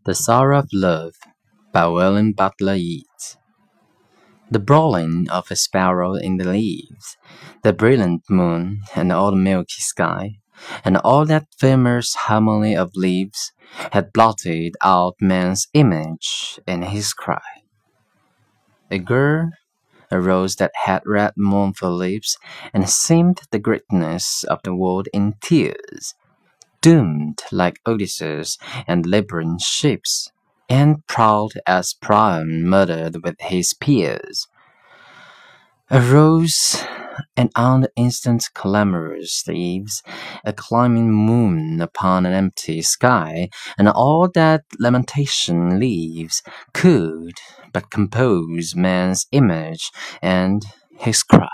The Sorrow of Love by William Butler Yeats. The brawling of a sparrow in the leaves, the brilliant moon and all the milky sky, and all that famous harmony of leaves, had blotted out man's image in his cry. A girl, a rose that had red mournful lips, and seemed the greatness of the world in tears, doomed like Odysseus and Libyan ships, and proud as Priam murdered with his peers. A rose, and on the instant clamorous eaves, a climbing moon upon an empty sky, and all that lamentation leaves could but compose man's image and his cry.